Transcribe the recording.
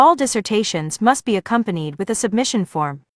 All dissertations must be accompanied with a submission form.